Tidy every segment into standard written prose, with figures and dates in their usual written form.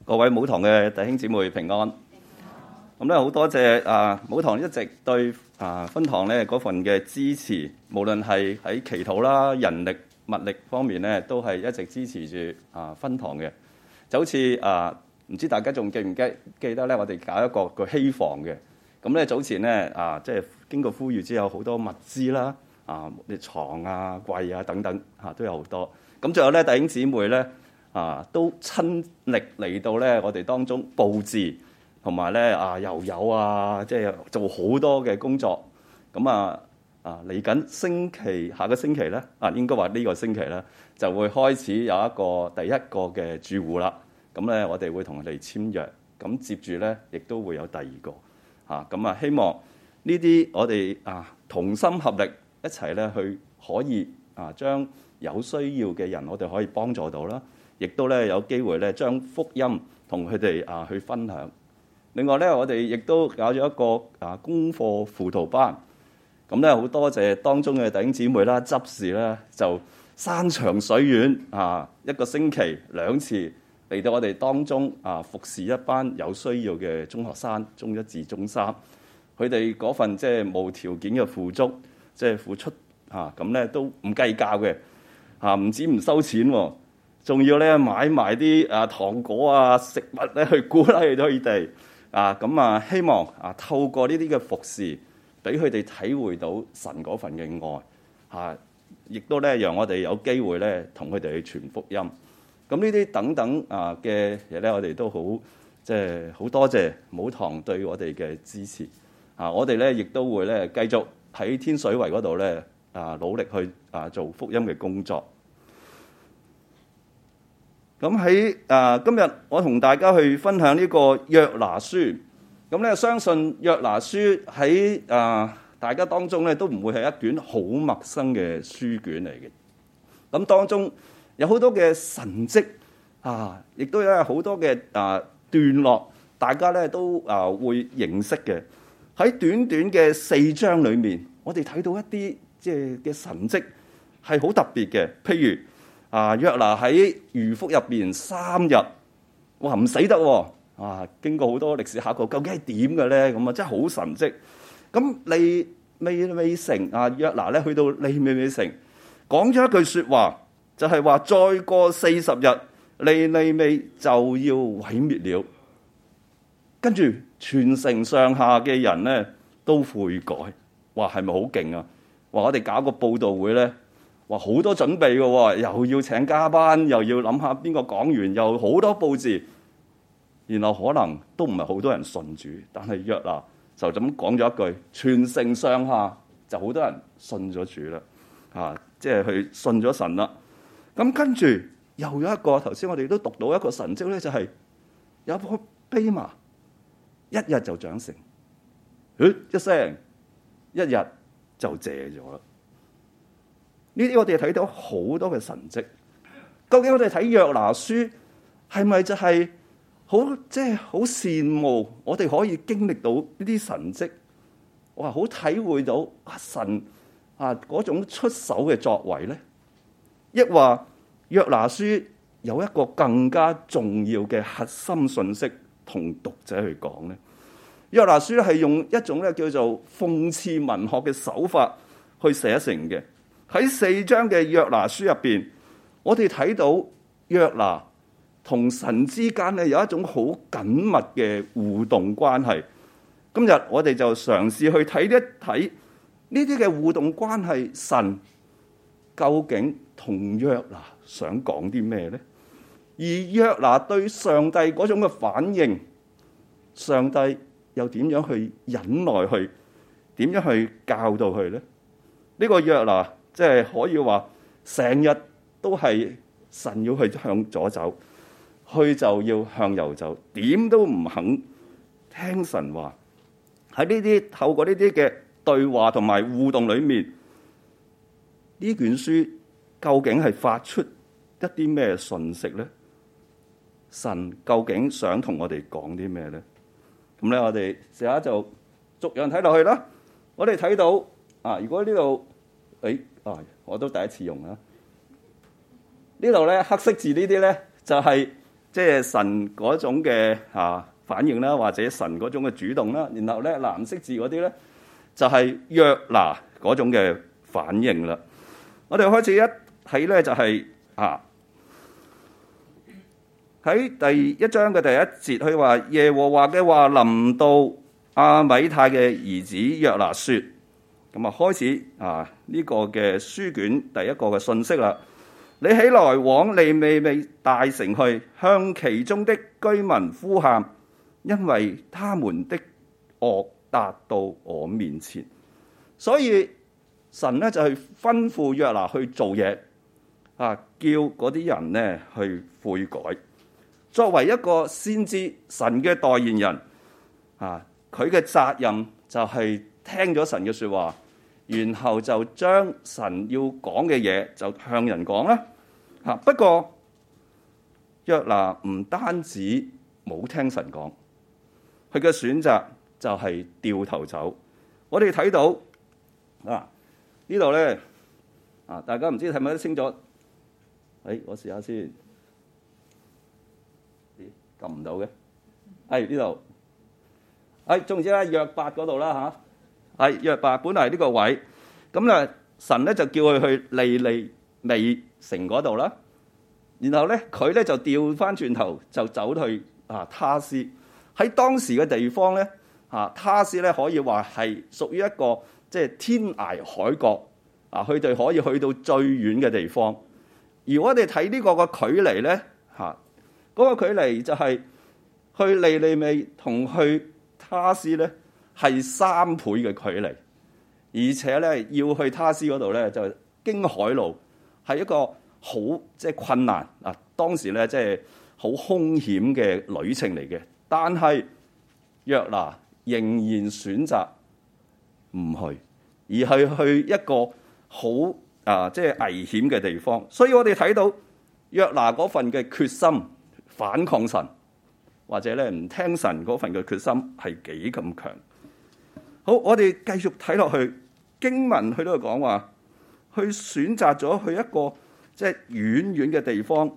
各位母堂嘅弟兄姊妹平安。咁咧好多謝母堂一直對分堂咧嗰份嘅支持，無論係喺祈禱啦、人力物力方面咧，都係一直支持住分堂嘅。就好似唔知大家仲記唔記得咧？我哋搞一個希房嘅。咁咧早前咧即係經過呼籲之後，好多物資啦，啲床啊、櫃啊等等都有好多。咁仲有咧弟兄姊妹咧。都親力嚟到咧，我哋當中佈置同埋咧又有即係做好多嘅工作。咁嚟緊下個星期咧應該話呢個星期咧就會開始有第一個嘅住戶啦。咁咧我哋會同佢哋簽約，咁接住咧亦都會有第二個咁希望呢啲我哋同心合力一齊咧去可以將有需要嘅人我哋可以幫助到啦。亦都咧有機會咧將福音同佢哋去分享。另外咧，我哋亦都搞咗一個功課輔導班。咁咧好多謝當中嘅弟兄姊妹啦、執事啦，就山長水遠一個星期2次嚟到我哋當中服侍一班有需要嘅中學生，中一至中三。佢哋嗰份即係無條件嘅付出，即係付出咁咧都唔計較嘅唔止唔收錢喎。仲要咧買埋啲糖果食物咧去鼓勵佢哋咁希望透過呢啲嘅服侍，俾佢哋體會到神嗰份嘅愛亦都咧讓我哋有機會咧同佢哋去傳福音。咁呢啲等等嘅嘢咧，我哋都好即係好多謝母堂對我哋嘅支持我哋咧亦都會咧繼續喺天水圍嗰度咧努力去做福音嘅工作。咁喺今日我同大家去分享呢個約拿書。咁咧相信約拿書喺大家當中咧都唔會係一卷好陌生嘅書卷嚟嘅。咁當中有好多嘅神蹟亦都有好多嘅段落，大家咧都會認識嘅。喺短短嘅4章裏面，我哋睇到一啲即係嘅神蹟係好特別嘅。譬如約拿喺魚腹入邊3日，哇唔死得喎！經過好多歷史考究，究竟係點嘅咧？咁真係好神蹟。咁利未城約拿咧去到利未城，講咗一句説話，就係話再過40日，利未就要毀滅了。跟住全城上下嘅人咧都悔改，哇係咪好勁啊？話我哋搞個佈道會咧。哇！好多準備嘅喎，又要請加班，又要諗下邊個講完，又好多佈置，然後可能都唔係好多人信主，但係約拿就咁講咗一句，全城上下就好多人信咗主啦，即係去信咗神啦。咁跟住又有一個頭先我哋都讀到一個神蹟咧，就係有一棵蓖麻一日就長成，一聲一日就謝咗啦。呢啲我哋睇到好多嘅神蹟，究竟我哋睇約拿書係咪就係好即係好羨慕我哋可以經歷到呢啲神蹟？哇！好體會到神嗰種出手嘅作為咧，抑或約拿書有一個更加重要嘅核心信息同讀者去講咧？約拿書係用一種咧叫做諷刺文學嘅手法去寫成嘅。喺4章嘅約拿書入邊，我哋睇到約拿同神之間咧有一種好緊密嘅互動關係。今日我哋就嘗試去睇一睇呢啲嘅互動關係，神究竟同約拿想講啲咩呢？而約拿對上帝嗰種嘅反應，上帝又點樣去忍耐去，點樣去教導佢呢？呢個約拿即係可以話，成日都係神要去向左走，去就要向右走，點都唔肯聽神話。喺呢啲透過呢啲嘅對話同埋互動裏面，呢卷書究竟係發出一啲咩訊息咧？神究竟想同我哋講啲咩咧？咁咧，我哋試下就逐樣睇落去啦。我哋睇到如果呢度我都第一次用啦。呢度咧黑色字呢啲咧就係即係神嗰種嘅反應啦，或者神嗰種嘅主動啦。然後咧藍色字嗰啲咧就係約拿嗰種嘅反應啦。我哋開始一睇咧就係喺第一章嘅第一節，佢話耶和華嘅話臨到阿米太嘅兒子約拿說，咁開始呢個嘅書卷第一個嘅信息啦。你起來往尼尼微大城去，向其中的居民呼喊，因為他們的惡達到我面前。所以神咧就去吩咐約拿去做嘢，叫嗰啲人咧去悔改。作為一個先知，神嘅代言人，佢嘅責任就係聽咗神嘅說話，然後就將神要講嘅嘢就向人講啦。不過約拿唔單止冇聽神講，佢嘅選擇就係掉頭走。我哋睇到呢度咧大家唔知睇唔睇得清楚？我試下先，撳唔到嘅。呢度，總之咧約伯嗰度啦嚇，約伯本來係呢個位，咁咧神咧就叫佢去尼尼微城嗰度啦，然後咧佢咧就調翻轉頭就走去他施。喺當時嘅地方咧他施咧可以話係屬於一個即係天涯海角佢哋可以去到最遠嘅地方。而我哋睇呢個嘅距離咧嗰個距離就係去尼尼微同去他施咧係3倍嘅距離，而且咧要去他施嗰度咧就經海路，係一個好即係困難當時咧即係好兇險嘅旅程嚟嘅。但係約拿仍然選擇唔去，而係去一個好即係危險嘅地方。所以我哋睇到約拿嗰份嘅決心反抗神，或者咧唔聽神嗰份嘅決心係幾咁強。好，我哋繼續睇落去經文，佢都係講話，去選擇咗去一個即係遠遠嘅地方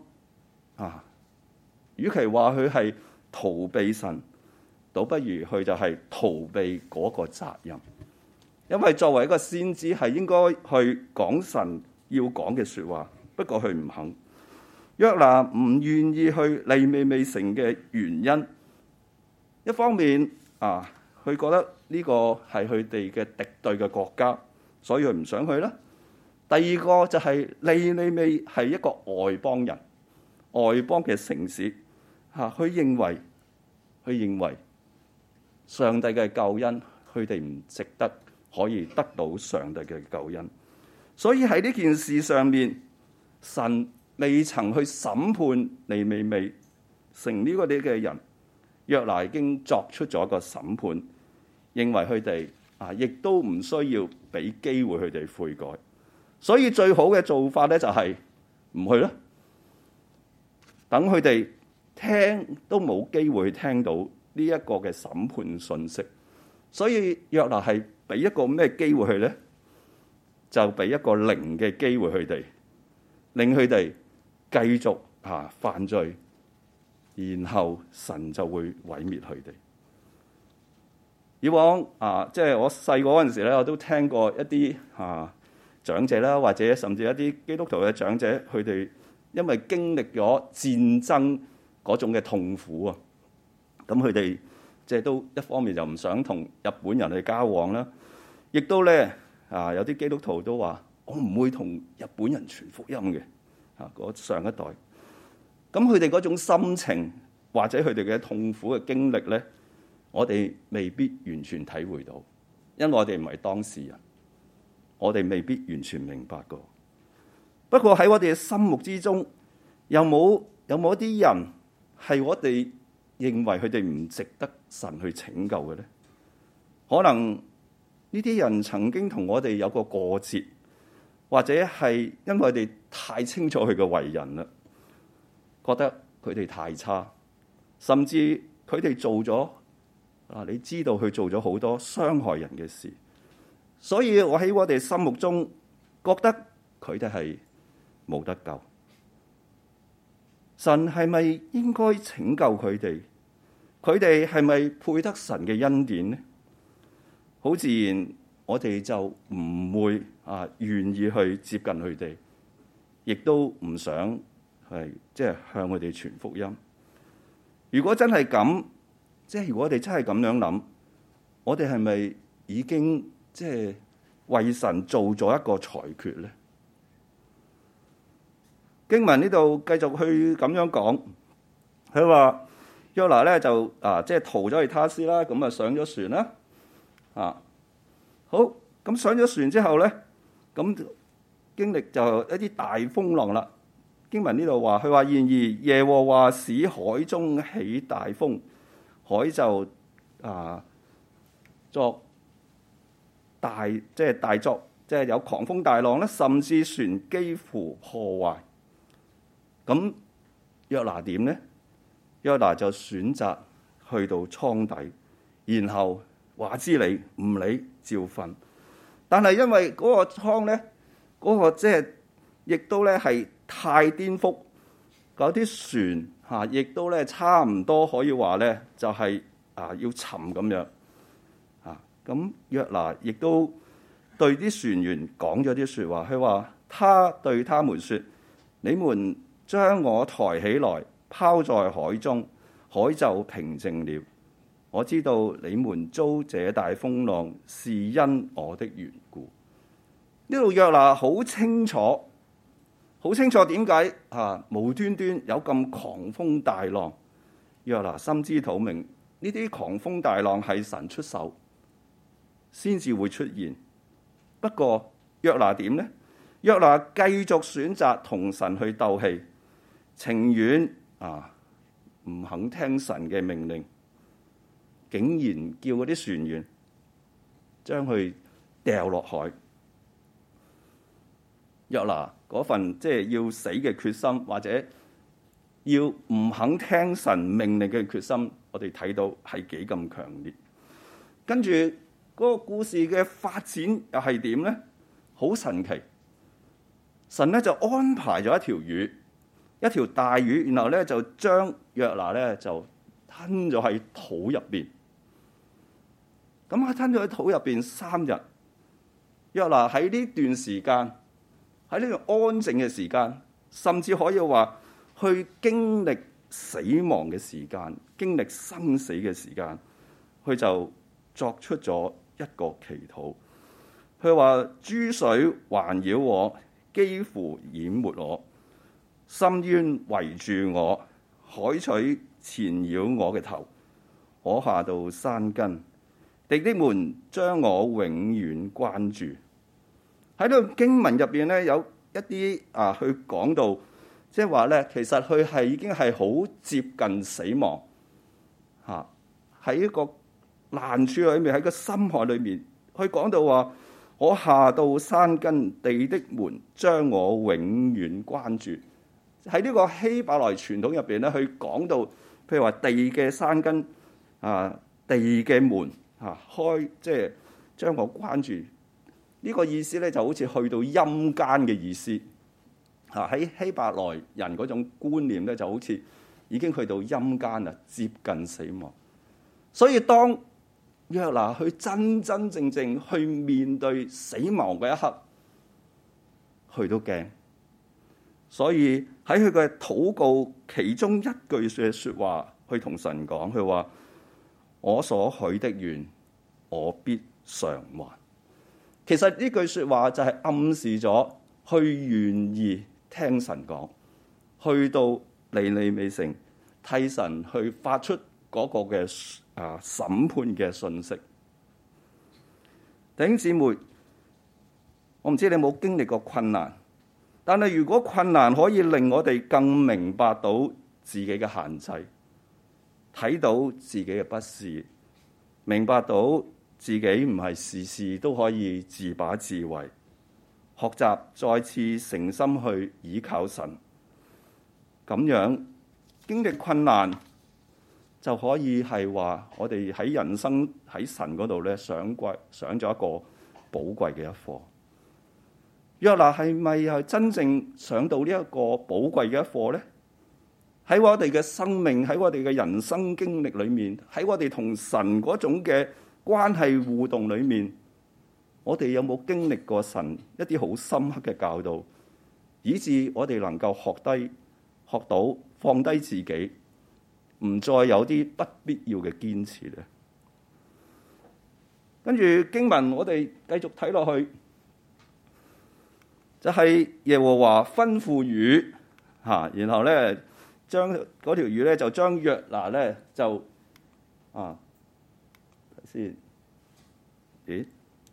與其話佢係逃避神，倒不如佢就係逃避嗰個責任。因為作為一個先知係應該去講神要講嘅說話，不過佢唔肯。約拿唔願意去尼尼微城嘅原因，一方面佢覺得呢個係佢哋嘅敵對嘅國家，所以佢唔想去啦。第二個就係尼尼微係一個外邦人、外邦嘅城市，佢認為上帝嘅救恩，佢哋唔值得可以得到上帝嘅救恩，所以喺呢件事上面，神未曾去審判尼尼微城呢個啲嘅人，約拿已經作出咗一個審判，認為佢哋亦都唔需要俾機會佢哋悔改，所以最好嘅做法咧就係唔去啦，等佢哋聽都冇機會聽到呢一個嘅審判信息。所以約拿係俾一個咩機會佢咧？就俾一個零嘅機會佢哋，令佢哋繼續犯罪，然後神就會毀滅佢哋。以往即係我細個嗰陣時咧，我都聽過一啲長者啦，或者甚至一啲基督徒嘅長者，佢哋因為經歷咗戰爭嗰種嘅痛苦咁佢哋即係都一方面就唔想同日本人去交往啦，亦都咧有啲基督徒都話我唔會同日本人傳福音嘅嗰上一代。咁佢哋嗰種心情或者佢哋嘅痛苦嘅經歷咧，我哋未必完全體會到，因為我哋唔係當事人，我哋未必完全明白過。不過喺我哋嘅心目之中，有冇一啲人係我哋認為佢哋唔值得神去拯救嘅咧？可能呢啲人曾經同我哋有個過節，或者係因為我哋太清楚佢嘅為人啦，覺得佢哋太差，甚至佢哋做咗你知道佢做咗好多傷害人嘅事，所以我喺我哋心目中覺得佢哋係冇得救。 神係咪應該拯救佢哋？佢哋係咪配得神嘅恩典呢？好自然，我哋就唔會願意去接近佢哋，亦都唔想向佢哋傳福音。如果真係咁，如果我哋真係咁樣諗，我哋係咪已經為神做咗一個裁決呢？經文呢度繼續去咁樣講，佢話約拿咧就逃咗去他施啦，咁上咗船啦，好，咁上咗船之後咧，咁經歷就一啲大風浪啦。經文呢度話，佢話然而耶和華使海中起大風，海就作大大作，有狂風大浪咧，甚至船幾乎破壞。咁約拿點呢？約拿就選擇去到艙底，然後話知你唔理照瞓。但係因為嗰個艙咧，嗰個亦都咧係太顛覆，嗰啲船亦都咧差唔多可以話咧就係要沉咁樣。咁約拿亦都對啲船員講咗啲說話，佢話他對他們說：你們將我抬起來，拋在海中，海就平靜了。我知道你們遭這大風浪是因我的緣故。呢度約拿好清楚點解無端端有咁狂風大浪。約拿心知肚明，呢啲狂風大浪係神出手先至會出現。不過約拿點呢？約拿繼續選擇同神去鬥氣，情願唔肯聽神嘅命令，竟然叫嗰啲船員將佢掉落海。約拿嗰份要死嘅決心，或者要唔肯聽神命令嘅決心，我哋睇到係幾咁強烈。跟住嗰個故事嘅發展又係點呢？好神奇，神咧就安排咗一條大魚，然後咧就將約拿咧就吞咗喺土入邊。咁佢吞咗喺土入邊3日。約拿喺呢段時間，喺呢個安靜嘅時間，甚至可以話去經歷死亡嘅時間，經歷生死嘅時間，佢就作出咗一個祈禱。佢話：諸水環繞我，幾乎淹沒我。深淵圍住我，海水纏繞我嘅頭，我下到山根，敵的門將我永遠關住。喺呢個經文入邊咧，有一啲去講到，即係話咧，其實佢係已經係好接近死亡喺一個難處裏面，喺個深海裏面，佢講到話：我下到山根，地的門將我永遠關住。喺呢個希伯來傳統入邊咧，佢講到，譬如話地嘅山根地嘅門開，將我關住。呢個意思咧就好似去到陰間嘅意思。喺希伯來人嗰種觀念咧，就好似已經去到陰間啦，接近死亡。所以當約拿去真真正正去面對死亡嗰一刻，佢都驚。所以喺佢嘅禱告其中一句嘅說話，去同神講，佢話：我所許的願，我必償還。其實呢句說話就係暗示咗，去願意聽神講，去到尼尼微城替神去發出嗰個嘅審判嘅信息。弟兄姊妹，我唔知你有冇經歷過困難。但係如果困難可以令我哋更明白到自己嘅限制，睇到自己嘅不是，明白到自己唔係事事都可以自把自為，學習再次誠心去倚靠神，咁樣經歷困難就可以係話我哋喺人生喺神嗰度咧上咗一個寶貴嘅一課。約拿係咪係真正上到呢一個寶貴嘅一課呢？ 喺我哋嘅生命，喺我哋嘅人生經歷裏面，喺我哋同神嗰種嘅關係互動裏面，我哋有冇經歷過神一啲好深刻嘅教導，以致我哋能夠學到放低自己，唔再有啲不必要嘅堅持咧？跟住經文我哋繼續睇落去，就係耶和華吩咐魚嚇，然後咧將嗰條魚咧就將約拿咧就睇先，咦？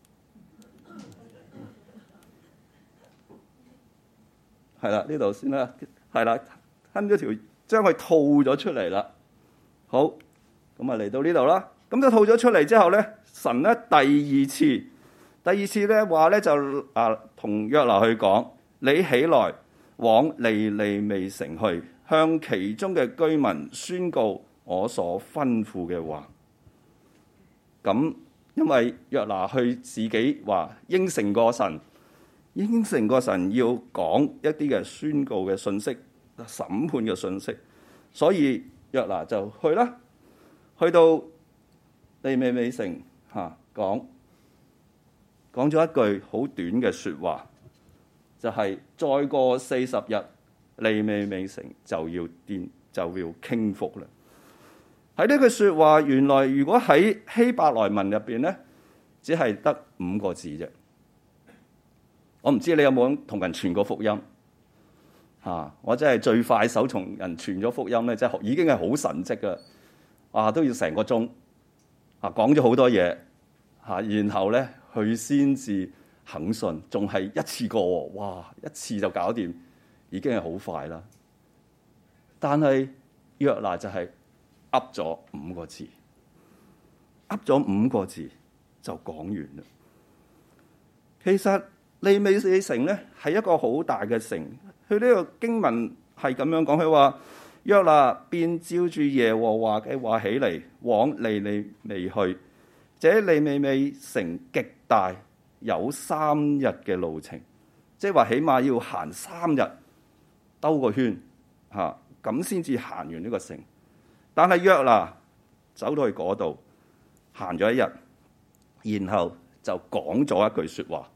係啦，呢度先啦，係啦，吞咗條，將佢吐咗出嚟啦。好，咁啊嚟到呢度啦。咁就吐咗出嚟之後咧，神咧第二次咧話咧就同約拿去講：你起來往尼尼微城去，向其中嘅居民宣告我所吩咐嘅話。咁因為約拿去自己話應承過神要講一啲嘅宣告嘅信息、審判嘅信息，所以約拿就去啦，去到尼尼微城講咗一句好短嘅說話，就係再過40日，尼尼微城就要傾覆啦。喺呢句說話，原來如果喺希伯來文入邊咧，只係得5個字啫。我唔知你有冇同人傳過福音我真係最快手同人傳咗福音咧，即係已經係好神蹟噶，都要成個鐘講咗好多嘢然後咧佢先至肯信，仲係一次過哇，一次就搞掂，已經係好快啦。但係約拿就係噏咗5個字，噏咗5個字就講完啦。其實尼尼微城咧係一個好大嘅城，佢呢個經文係咁樣講，佢話約拿便照住耶和華嘅話起嚟，往尼尼微去。這尼尼微城極大，有3日嘅路程，即係話起碼要行3日兜個圈咁先至行完呢個城。但係約拿走到去嗰度行咗1日，然後就講咗一句說話。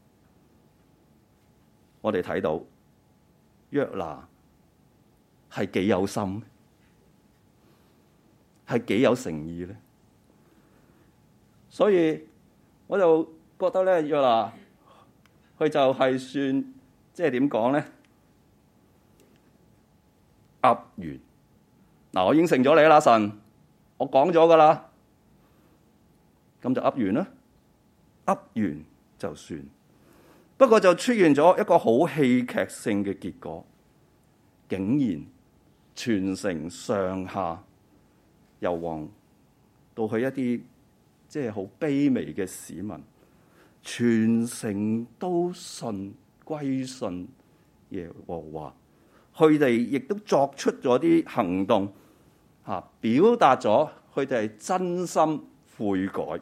我哋睇到約拿係幾有心，係幾有誠意咧。所以我就覺得咧，約拿佢就係算即係點講咧，噏完嗱，我應承咗你啦，神，我講咗噶啦，咁就噏完啦，噏完就算。不過就出現咗一個好戲劇性嘅結果，竟然全城上下由王到去一啲即係好卑微嘅市民，全城都歸信耶和華。佢哋亦都作出咗啲行動，表達咗佢哋係真心悔改。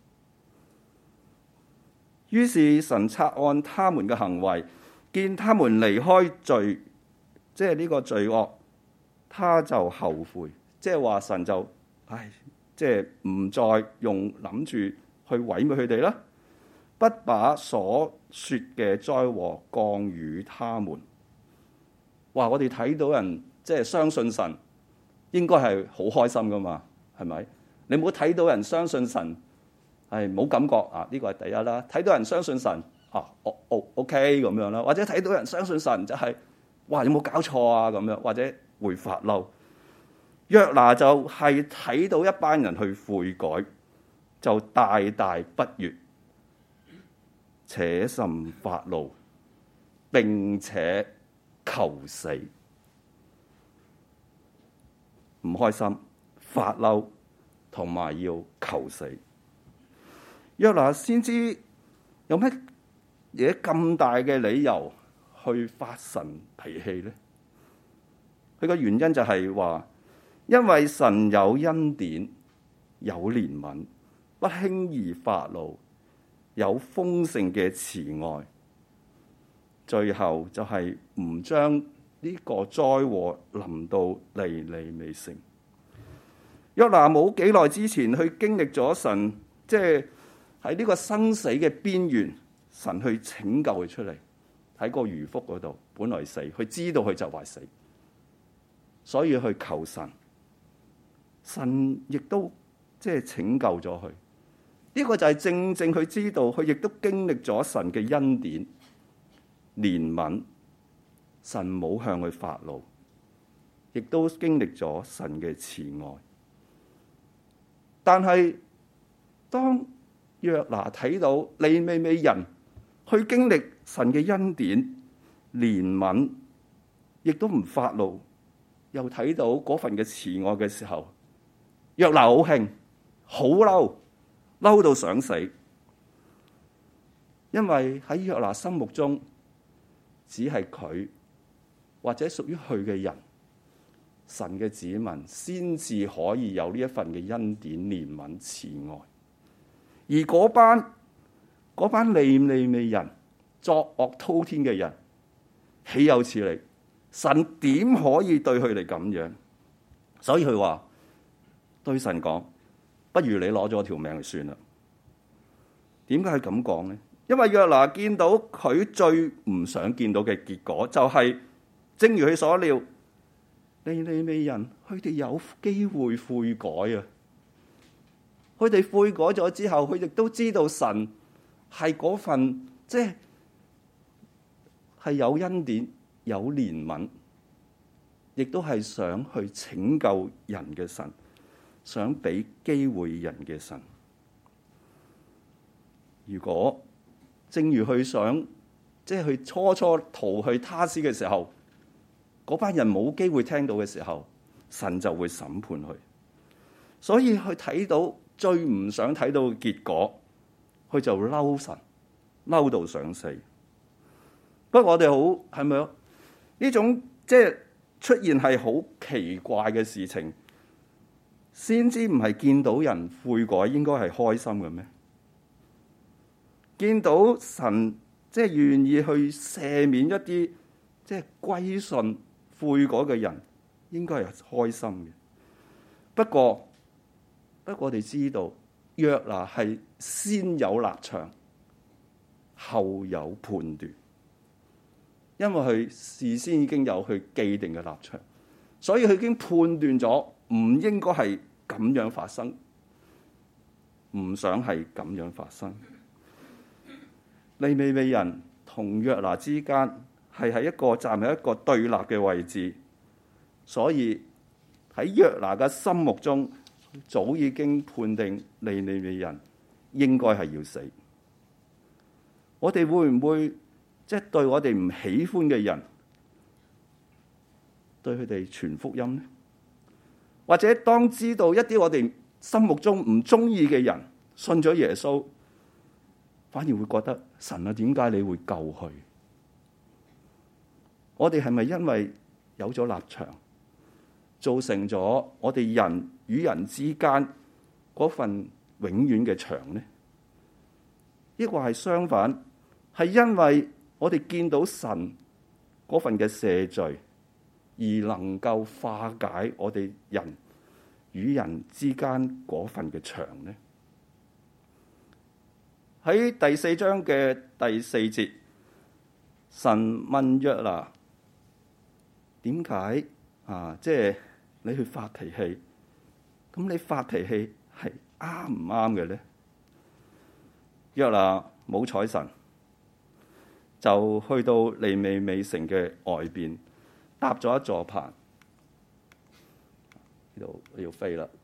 於是神察看他們嘅行為，見他們離開罪，即係呢個罪惡，他就後悔。即係話神就即係唔再用諗住去毀滅佢哋啦，不把所說嘅災禍降與他們。哇！我哋睇到人即係相信神，應該係好開心噶嘛？係咪？你冇睇到人相信神？冇感覺呢個係第一啦。睇到人相信神OK 咁樣啦，或者睇到人相信神就係哇，有冇搞錯啊咁樣，或者會發嬲。約拿就係睇到一班人去悔改，就大大不悅，且甚發怒，並且求死。唔開心、發嬲同埋要求死。約拿先知有乜嘢咁大嘅理由去發神脾氣呢？佢個原因就係話，因為神有恩典、有憐憫，不輕易發怒，有豐盛嘅慈愛。最後就係唔將呢個災禍臨到尼尼微城。約拿冇幾耐之前去經歷咗神，即係喺呢個生死嘅邊緣，神去拯救佢出嚟，喺個魚腹嗰度，本來死，佢知道佢就快死，所以去求神，神亦都即係拯救咗佢。呢個就係正正佢知道，佢亦都經歷咗神嘅恩典、憐憫，神冇向佢發怒，亦都經歷咗神嘅慈愛。但係當約拿睇到尼尼微人去經歷神嘅恩典、憐憫，亦都唔發怒，又睇到嗰份嘅慈愛嘅時候，約拿好興，好嬲，嬲到想死。因為喺約拿心目中，只係佢或者屬於佢嘅人，神嘅子民先至可以有呢一份嘅恩典、憐憫、慈愛。而嗰班尼尼微人，作惡滔天嘅人，豈有此理？神點可以對佢哋咁樣？所以佢話對神講，不如你攞咗條命就算啦。點解佢咁講呢？因為約拿見到佢最唔想見到嘅結果，就係正如佢所料，尼尼微人佢哋有機會悔改啊！佢哋悔改咗之後，佢亦都知道神係嗰份即係有恩典、有憐憫，亦都係想去拯救人嘅神，想俾機會人嘅神。如果正如佢想，即係佢初逃去他施嘅時候，嗰班人冇機會聽到嘅時候，神就會審判佢。所以佢睇到最唔想睇到嘅結果，佢就嬲神，嬲到想死。不過我哋好係咪呢種即係出現係好奇怪嘅事情？先知唔係見到人悔改應該係開心嘅咩？見到神即係願意去赦免一啲即係歸順悔改嘅人，應該係開心嘅。不過我哋知道約拿係先有立場，後有判斷，因為佢事先已經有佢既定嘅立場，所以佢已經判斷咗唔應該係咁樣發生，唔想係咁樣發生。尼尼微人同約拿之間係喺一個站喺一個對立嘅位置，所以喺約拿嘅心目中，早已經判定尼尼微人應該係要死。我哋會唔會即係對我哋唔喜歡嘅人，對佢哋傳福音呢？或者當知道一啲我哋心目中唔中意嘅人信咗耶穌，反而會覺得神啊，點解你會救佢？我哋係咪因為有咗立場，造成咗我哋人與人之間嗰份永遠嘅牆呢？抑或係相反，係因為我哋見到神嗰份嘅赦罪，而能夠化解我哋人與人之間嗰份嘅牆呢？喺第4章嘅第4節，神問約拿：點解即係你去發脾氣？咁你發脾氣係啱唔啱嘅咧？約拿冇睬神，就去到尼尼微城嘅外邊，搭咗一座棚。呢度要飛啦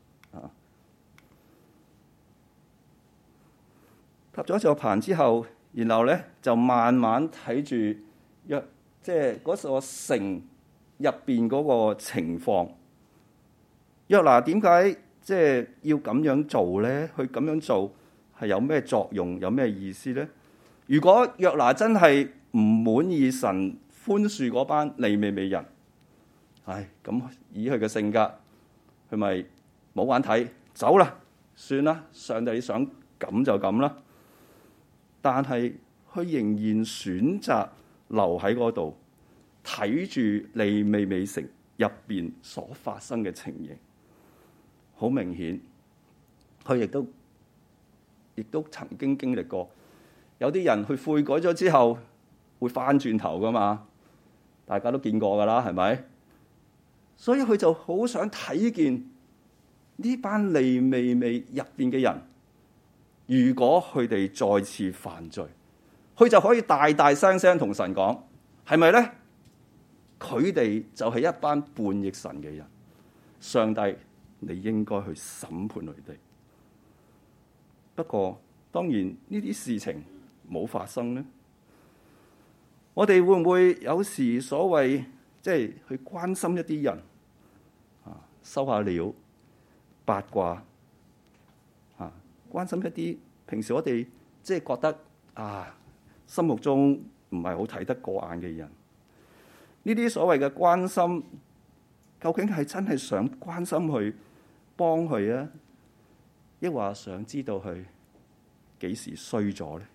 搭咗一座棚之後，然後咧就慢慢睇住即係嗰座城入邊嗰個情況。約拿點解即係要咁樣做咧？佢咁樣做係有咩作用？有咩意思咧？如果約拿真係唔滿意神寬恕嗰班尼尼微人，咁以佢嘅性格，佢咪冇眼睇，走啦，算啦，上帝想咁就咁啦。但係佢仍然選擇留喺嗰度， 睇住利未尾城入邊所發生嘅情形，好明顯，佢亦都曾經經歷過，有啲人去悔改咗之後會翻轉頭噶嘛，大家都見過噶啦，係咪？所以佢就好想睇見呢班利未尾入邊嘅人，如果佢哋再次犯罪，佢就可以大大聲聲同神講，係咪咧？佢哋就係一班叛逆神嘅人，上帝你應該去審判佢哋。不過當然呢啲事情冇發生咧，我哋會唔會有時所謂即係去關心一啲人啊，收下料八卦啊，關心一啲平時我哋即係覺得啊心目中唔係好睇得過眼嘅人，呢啲所謂嘅關心，究竟係真係想關心佢幫佢啊，抑或想知道佢幾時衰咗咧？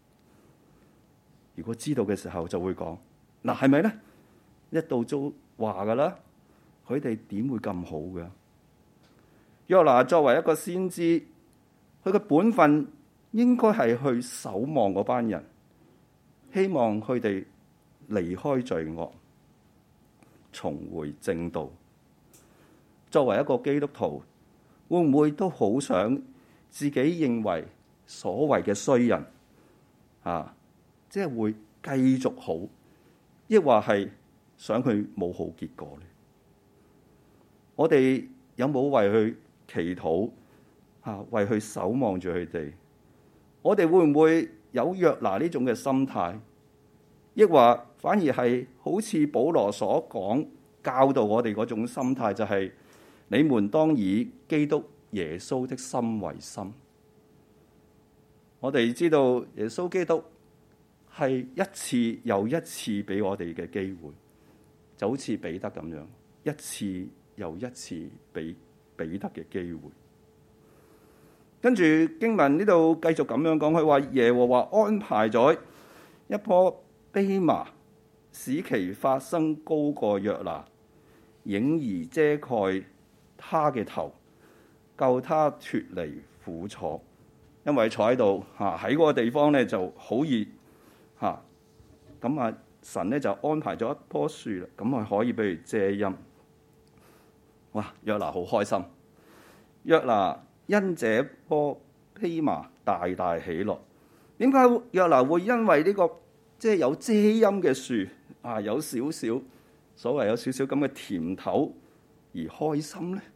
如果知道嘅時候就會講，嗱，係咪咧？一到都話噶啦，佢哋點會咁好嘅？約拿作為一個先知，佢嘅本分應該係去守望嗰班人，希望佢哋離開罪惡，重回正道。作為一個基督徒，會唔會都好想自己認為所謂嘅衰人啊，即係會繼續好，抑或係想佢冇好結果咧？我哋有冇為佢祈禱啊？為佢守望住佢哋？我哋會唔會有約拿呢種嘅心態，抑或反而係好似保羅所講教導我哋嗰種心態，就係你們當以基督耶穌的心為心。我哋知道耶穌基督係一次又一次俾我哋嘅機會，就好似彼得咁樣，一次又一次俾彼得嘅機會。跟住經文呢度繼續咁樣講，佢話耶和華安排咗一棵蓖麻，使其發生高過約拿，影兒遮蓋他嘅頭，救他脫離苦楚。因為坐喺度喺嗰個地方咧就好熱嚇，咁神咧就安排咗一棵樹啦，咁啊可以俾佢遮陰。哇！約拿好開心，約拿因這棵蓖麻大大喜樂。點解約拿會因為呢個即係有遮陰嘅樹有少少所謂有少少咁嘅甜頭而開心咧？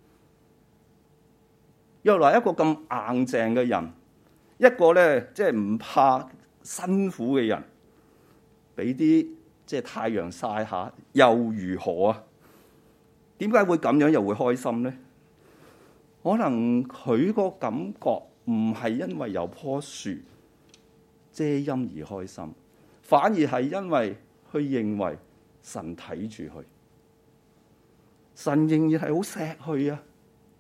約拿一個咁硬淨嘅人，一個咧即係唔怕辛苦嘅人，俾啲即係太陽曬下又如何啊？點解會咁樣又會開心咧？可能佢個感覺唔係因為有棵樹遮陰而開心，反而係因為佢認為神睇住佢，神仍然係好錫佢啊！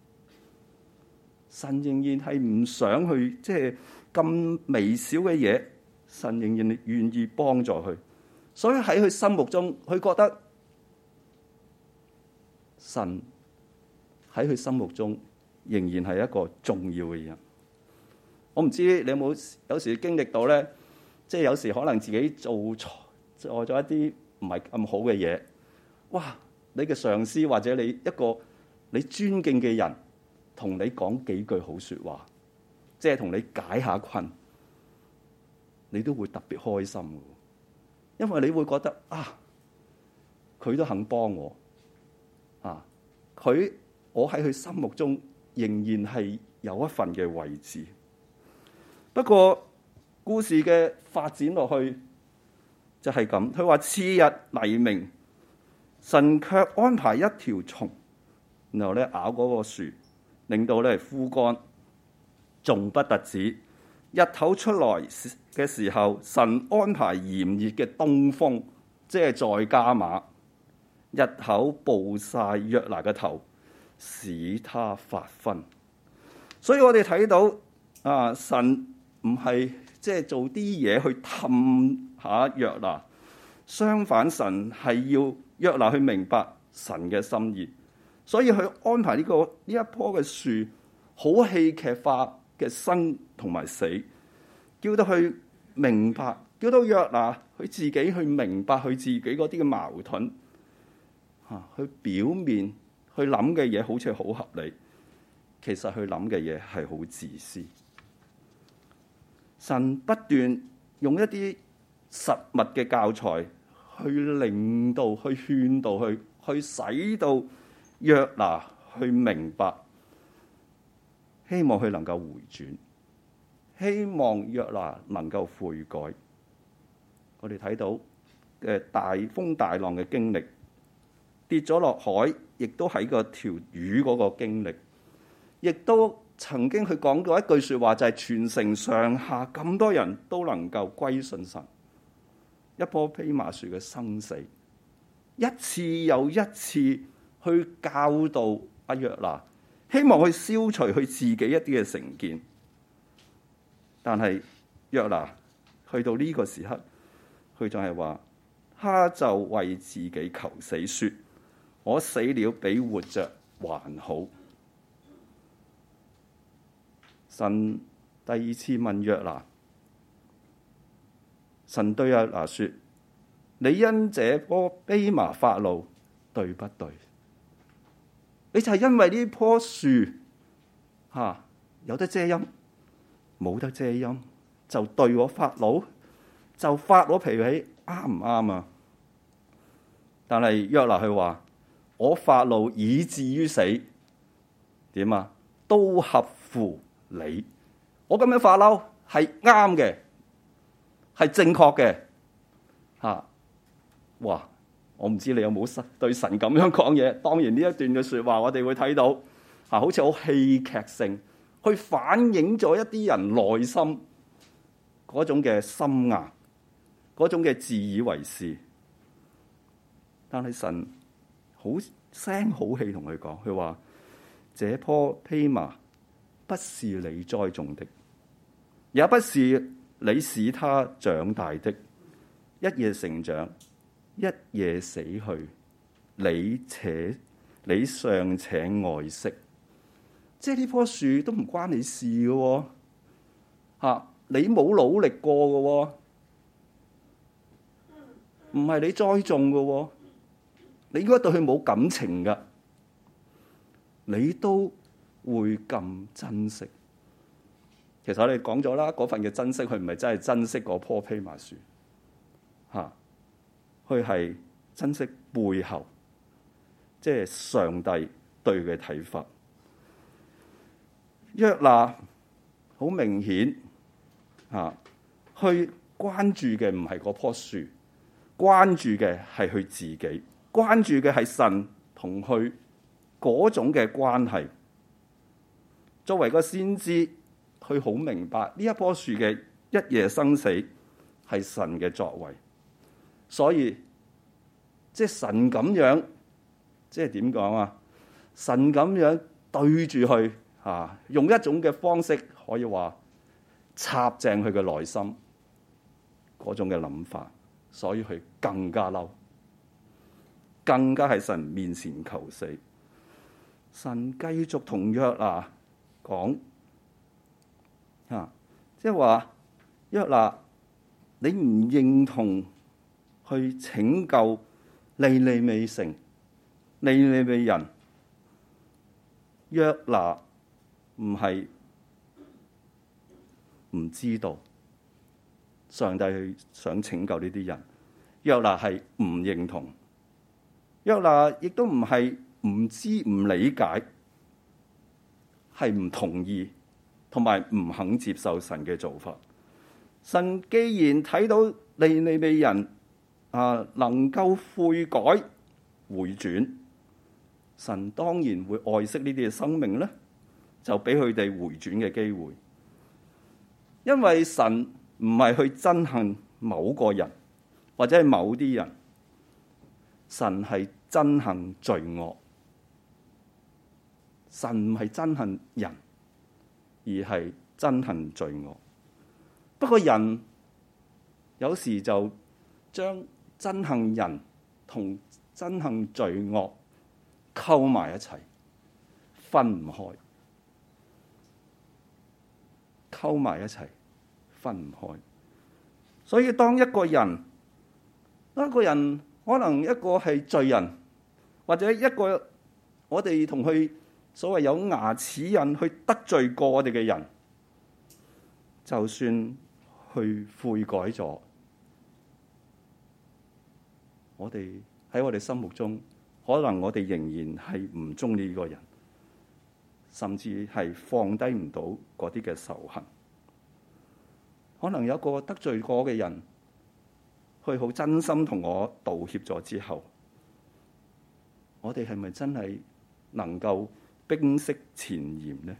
神仍然係唔想去即係咁微小嘅嘢，神仍然願意幫助佢，所以喺佢心目中，佢覺得神喺佢心目中仍然係一個重要嘅人。我唔知你有時經歷到咧，即係有時可能自己做咗一啲唔係咁好嘅嘢，哇！你嘅上司或者你一個你尊敬嘅人，同你講幾句好說話，即係同你解下困，你都會特別開心嘅，因為你會覺得佢都肯幫我我喺佢心目中仍然係有一份嘅位置。不過故事嘅發展落去就係咁，佢話次日黎明，神卻安排一條蟲，然後咧咬嗰個樹，令到咧枯乾，仲不特止。日頭出來嘅時候，神安排炎熱嘅東風，即係再加碼，日頭暴曬約拿嘅頭，使他發昏。所以我哋睇到神唔係即係做啲嘢去氹下約拿， 相反，神係要約拿去明白神嘅心意，所以佢安排呢一棵嘅樹好戲劇化嘅生同埋死，叫到佢明白，叫到約拿佢自己去明白佢自己嗰啲嘅矛盾，佢表面去諗嘅嘢好似好合理，其實佢諗嘅嘢係好自私。神不斷用一啲實物嘅教材去令到、去勸導、去使到約拿去明白，希望佢能夠回轉，希望約拿能夠悔改。我哋睇到嘅大風大浪嘅經歷，跌咗落海，亦都喺個條魚嗰個經歷，亦都曾經佢講過一句說話，就係全城上下咁多人都能夠歸信神。一棵蓖麻樹嘅生死，一次又一次去教導阿約拿，希望去消除佢自己一啲嘅成見。但係約拿去到呢個時刻，佢就係話，他就為自己求死，說：我死了比活着還好。神第二次問約拿，神對約拿說：你因這棵蓖麻發怒，對不對？你就係因為呢棵樹有得遮陰，冇得遮陰，就對我發怒，就發我脾氣，啱唔啱啊？但係約拿佢話：我發怒以至於死，點啊？都合乎你。我咁樣發嬲係啱嘅，係正確嘅。哇！我唔知你有冇對神咁樣講嘢。當然呢一段嘅說話，我哋會睇到好似好戲劇性，去反映咗一啲人內心嗰種嘅心硬，嗰種嘅自以為是。但係神好聲好氣同佢講，佢話：這棵蓖麻不是你栽種的，也不是你使它長大的，一夜成長，一夜死去，你尚且愛惜，即係呢棵樹都唔關你事嘅喎，你冇努力過嘅喎，唔係你栽種嘅喎，你應該對佢冇感情㗎，你都會咁珍惜。其實我哋講咗啦，嗰份嘅珍惜，佢唔係真係珍惜嗰棵蓖麻樹，佢係珍惜背後，即係上帝對佢嘅睇法。約拿好明顯去關注嘅唔係嗰棵樹，關注嘅係佢自己，關注嘅係神同佢嗰種嘅關係。作為個先知，佢好明白呢一棵樹嘅一夜生死係神嘅作為。所以，即係神咁樣，即係點講啊？神咁樣對住佢用一種嘅方式，可以話插正佢嘅內心嗰種嘅諗法，所以佢更加嬲，更加喺神面前求死。神繼續同約拿講，即係話約拿，你唔認同去拯救尼尼微城、尼尼微人。約拿唔係唔知道上帝去想拯救呢啲人，約拿係唔認同，約拿亦都唔係唔知唔理解，係唔同意同埋唔肯接受神嘅做法。神既然睇到尼尼微人能夠悔改回轉，神當然會愛惜呢啲嘅生命咧，就俾佢哋回轉嘅機會。因為神唔係去憎恨某個人或者係某啲人，神係憎恨罪惡。神唔係憎恨人，而係憎恨罪惡。不過人有時就將憎恨人同憎恨罪惡溝埋一齊，分唔開，溝埋一齊，分唔開。所以當一個人可能一個係罪人，或者一個我哋同佢所謂有牙齒印去得罪過我哋嘅人，就算去悔改咗，我哋喺我哋心目中，可能我哋仍然係唔中意呢個人，甚至係放低唔到嗰啲嘅仇恨。可能有一個得罪過嘅人，佢好真心同我道歉咗之後，我哋係咪真係能夠冰釋前嫌呢？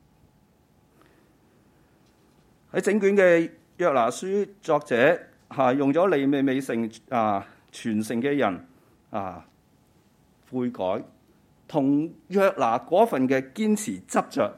喺整卷嘅約拿書，作者用咗利未未成全城嘅人悔改，同約拿嗰份嘅堅持執着，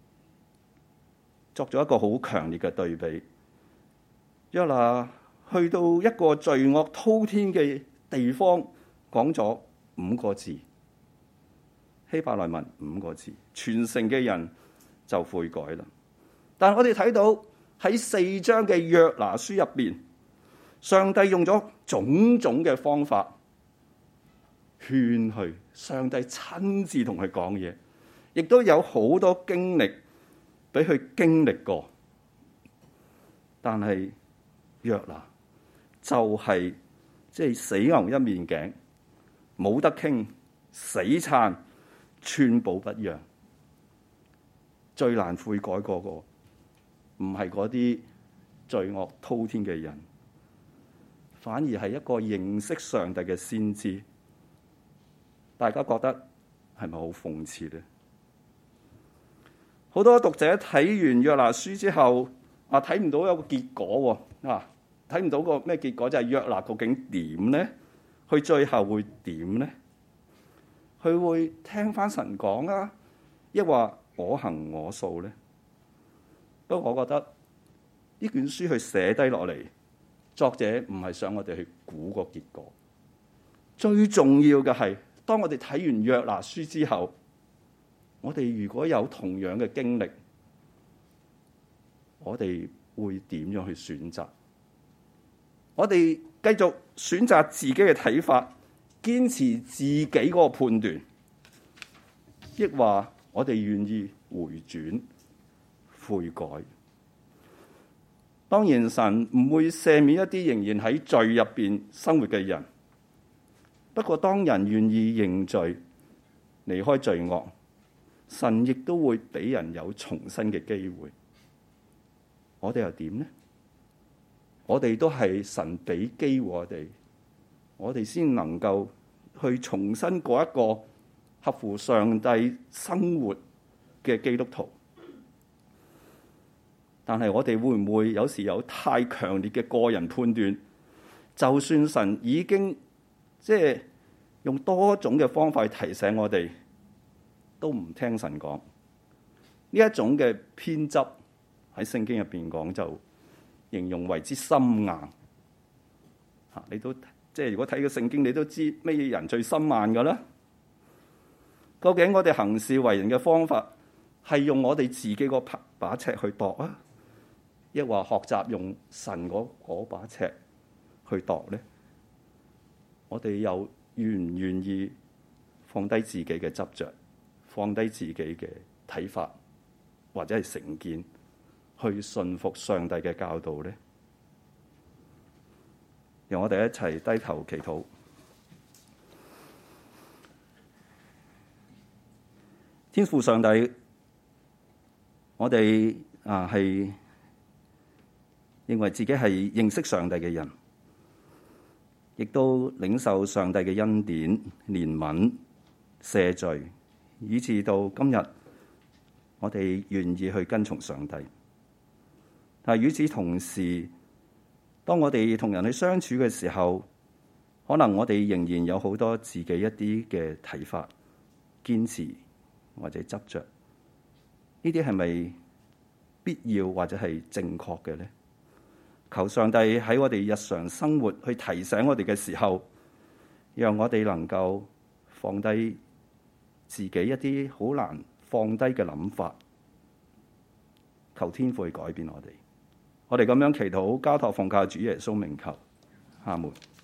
作咗一個好強烈嘅對比。約拿去到一個罪惡滔天嘅地方，講咗5個字，希伯來文5個字，全城嘅人就悔改啦。但我哋睇到喺4章嘅約拿書入邊，上帝用咗種種嘅方法勸佢，上帝親自同佢講嘢，亦都有好多經歷俾佢經歷過。但係約拿就係死牛一面頸，冇得傾，死撐，寸步不讓。最難悔改嗰個唔係嗰啲罪惡滔天嘅人，反而係一個認識上帝嘅先知。大家覺得係咪好諷刺呢？好多讀者睇完約拿書之後，睇唔到有個結果喎，睇唔到個咩結果，就係約拿究竟點呢？佢最後會點呢？佢會聽翻神講啊，抑或我行我素呢？不過我覺得呢卷書佢寫低落嚟，作者唔係想我哋去估個結果。最重要嘅係，當我哋睇完約拿書之後，我哋如果有同樣嘅經歷，我哋會點樣去選擇？我哋繼續選擇自己嘅睇法，堅持自己嗰個判斷，抑或我哋願意回轉悔改？當然，神唔會赦免一啲仍然喺罪入邊生活嘅人。不過，當人願意認罪、離開罪惡，神亦都會俾人有重新嘅機會。我哋又點呢？我哋都係神俾機會我哋先能夠去重新過一個合乎上帝生活嘅基督徒。但係我哋會唔會有時有太強烈嘅個人判斷？就算神已經用多種嘅方法去提醒我哋，都唔聽神講。呢一種嘅偏執喺聖經入邊講，就形容為之心硬。你都如果睇個聖經，你都知咩人最心硬噶啦？究竟我哋行事為人嘅方法係用我哋自己個把尺去度啊，抑或學習用神嗰把尺去度呢？我哋又願唔願意放低自己嘅執着，放低自己嘅睇法或者係成見，去順服上帝嘅教導呢？讓我哋一齊低頭祈禱。天父上帝，我哋係認為自己係認識上帝嘅人，亦都領受上帝嘅恩典、憐憫、赦罪，以至到今日我哋願意去跟從上帝。但係與此同時，當我哋同人去相處嘅時候，可能我哋仍然有好多自己一啲嘅睇法、堅持或者執着，呢啲係咪必要或者係正確嘅呢？ 求上帝喺我哋日常生活去提醒我哋嘅時候，讓我哋能夠放低自己一啲好難放低嘅諗法，求天父去改變我哋。我哋咁樣祈禱，交託奉靠主耶穌名求，阿門。